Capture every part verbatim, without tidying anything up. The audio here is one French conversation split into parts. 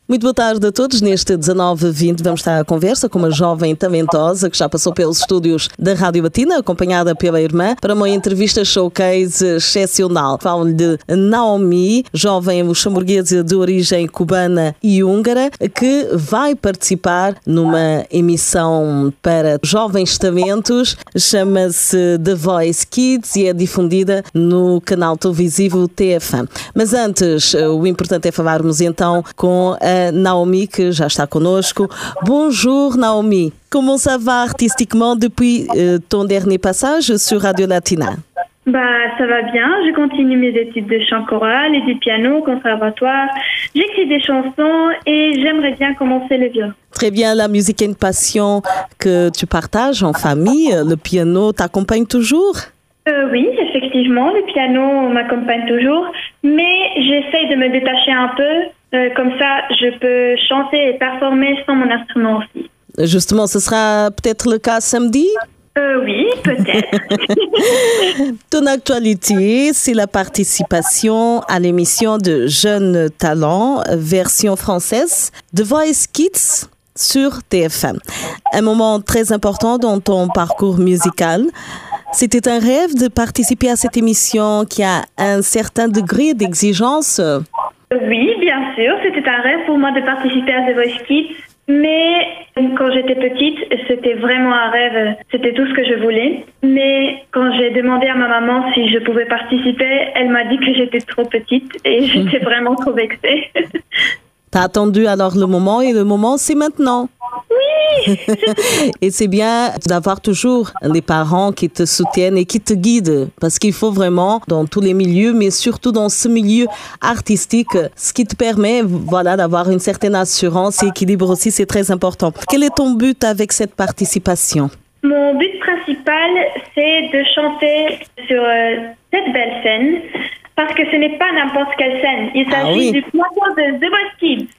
Muito boa tarde a todos. Neste dezanove vinte vamos estar à conversa com uma jovem talentosa que já passou pelos estúdios da Rádio Latina, acompanhada pela irmã, para uma entrevista showcase excepcional. Falo-lhe de Naomi, jovem luxemburguesa de origem cubana e húngara, que vai participar numa emissão para jovens talentos, chama-se The Voice Kids e é difundida no canal televisivo T F um. Mas antes, o importante é falarmos então com a Naomi, que já está connosco. Bonjour Naomi, comment ça va artistiquement depuis euh, ton dernier passage sur Radio Latina? Bah, ça va bien, je continue mes études de chant choral et du piano au conservatoire. J'écris des chansons et j'aimerais bien commencer le violon. Très bien, la musique est une passion que tu partages en famille. Le piano t'accompagne toujours? Euh, oui, effectivement, le piano m'accompagne toujours, mais j'essaye de me détacher un peu, euh, comme ça je peux chanter et performer sans mon instrument aussi. Justement, ce sera peut-être le cas samedi? Euh, oui, peut-être. Ton actualité, c'est la participation à l'émission de Jeunes Talents, version française, The Voice Kids sur T F un. Un moment très important dans ton parcours musical. C'était un rêve de participer à cette émission qui a un certain degré d'exigence? Oui, bien sûr. C'était un rêve pour moi de participer à The Voice Kids. Mais quand j'étais petite, c'était vraiment un rêve. C'était tout ce que je voulais. Mais quand j'ai demandé à ma maman si je pouvais participer, elle m'a dit que j'étais trop petite et j'étais vraiment trop vexée. T'as attendu alors le moment et le moment, c'est maintenant. Oui. Et c'est bien d'avoir toujours des parents qui te soutiennent et qui te guident, parce qu'il faut vraiment, dans tous les milieux, mais surtout dans ce milieu artistique, ce qui te permet, voilà, d'avoir une certaine assurance et équilibre aussi, c'est très important. Quel est ton but avec cette participation? Mon but principal, c'est de chanter sur euh, cette belle scène, parce que ce n'est pas n'importe quelle scène. Il s'agit ah oui. du plateau de The Voice Kids.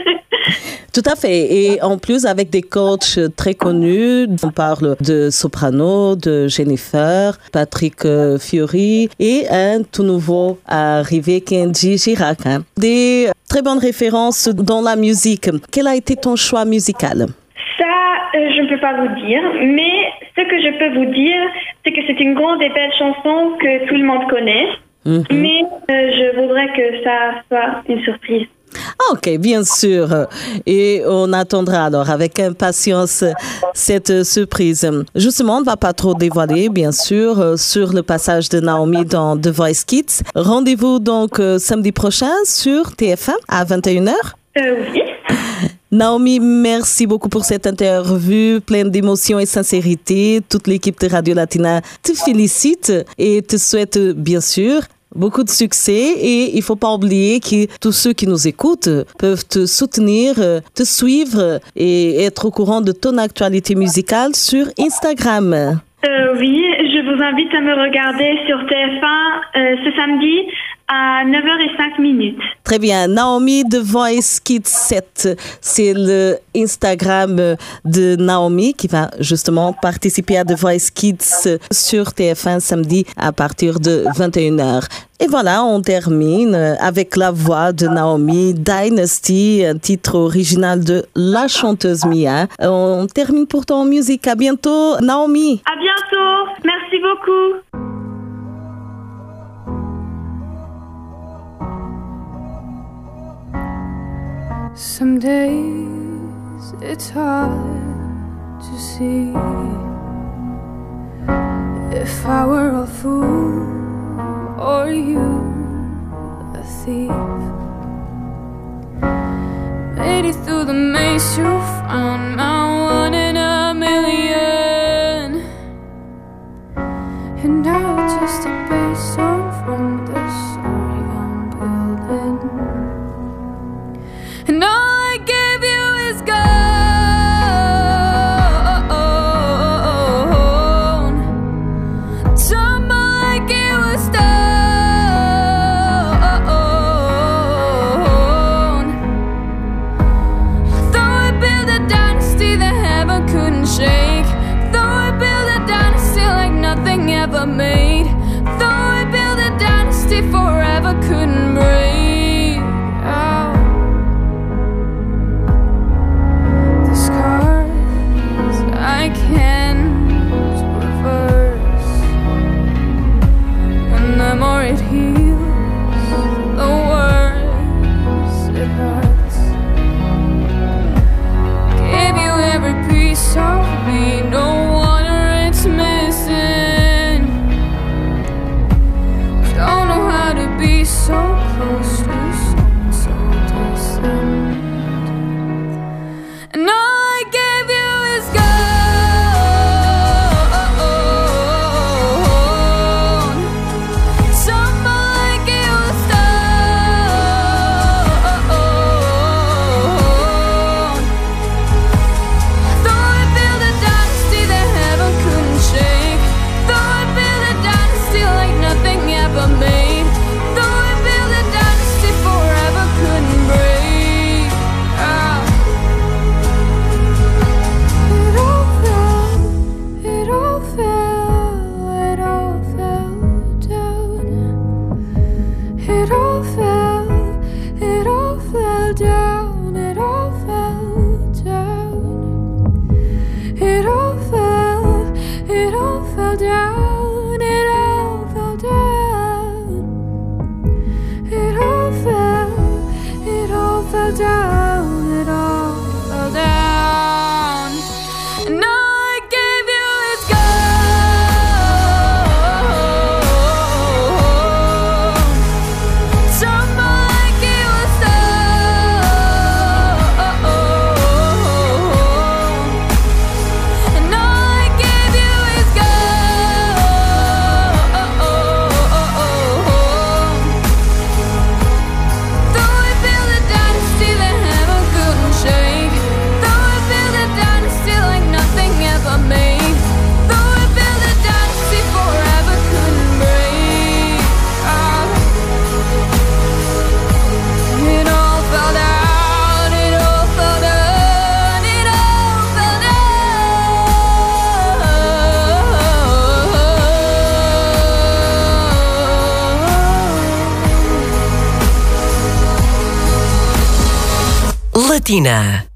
Tout à fait. Et en plus, avec des coachs très connus, on parle de soprano, de Jennifer, Patrick Fiori et un tout nouveau arrivé, Kenji Girac. Hein. Des très bonnes références dans la musique. Quel a été ton choix musical? Ça, euh, je ne peux pas vous dire, mais ce que je peux vous dire, c'est que c'est une grande et belle chanson que tout le monde connaît. Mm-hmm. Mais euh, je voudrais que ça soit une surprise. Ok, bien sûr. Et on attendra alors avec impatience cette surprise. Justement, on ne va pas trop dévoiler, bien sûr, sur le passage de Naomi dans The Voice Kids. Rendez-vous donc samedi prochain sur T F un à vingt et une heures. Euh, oui. Naomi, merci beaucoup pour cette interview pleine d'émotion et sincérité. Toute l'équipe de Radio Latina te félicite et te souhaite bien sûr beaucoup de succès. Et il ne faut pas oublier que tous ceux qui nous écoutent peuvent te soutenir, te suivre et être au courant de ton actualité musicale sur Instagram. Euh, oui, je vous invite à me regarder sur T F un euh, ce samedi à neuf heures zéro cinq minutes. Très bien. Naomi The Voice Kids sept, c'est le Instagram de Naomi qui va justement participer à The Voice Kids sur T F un samedi à partir de vingt et une heures. Et voilà, on termine avec la voix de Naomi, Dynasty, un titre original de la chanteuse Mia. On termine pourtant en musique. À bientôt, Naomi. À bientôt. Merci beaucoup. Some days it's hard to see if I were a fool or you a thief. Made it through the maze, you found my one in a million, and now it's just a base from the story I'm building. And all I gave you is gone. Tumble like it was stone. Though I built a dynasty that heaven couldn't shake, though I built a dynasty like nothing ever made, though I built a dynasty forever couldn't break out. Matina.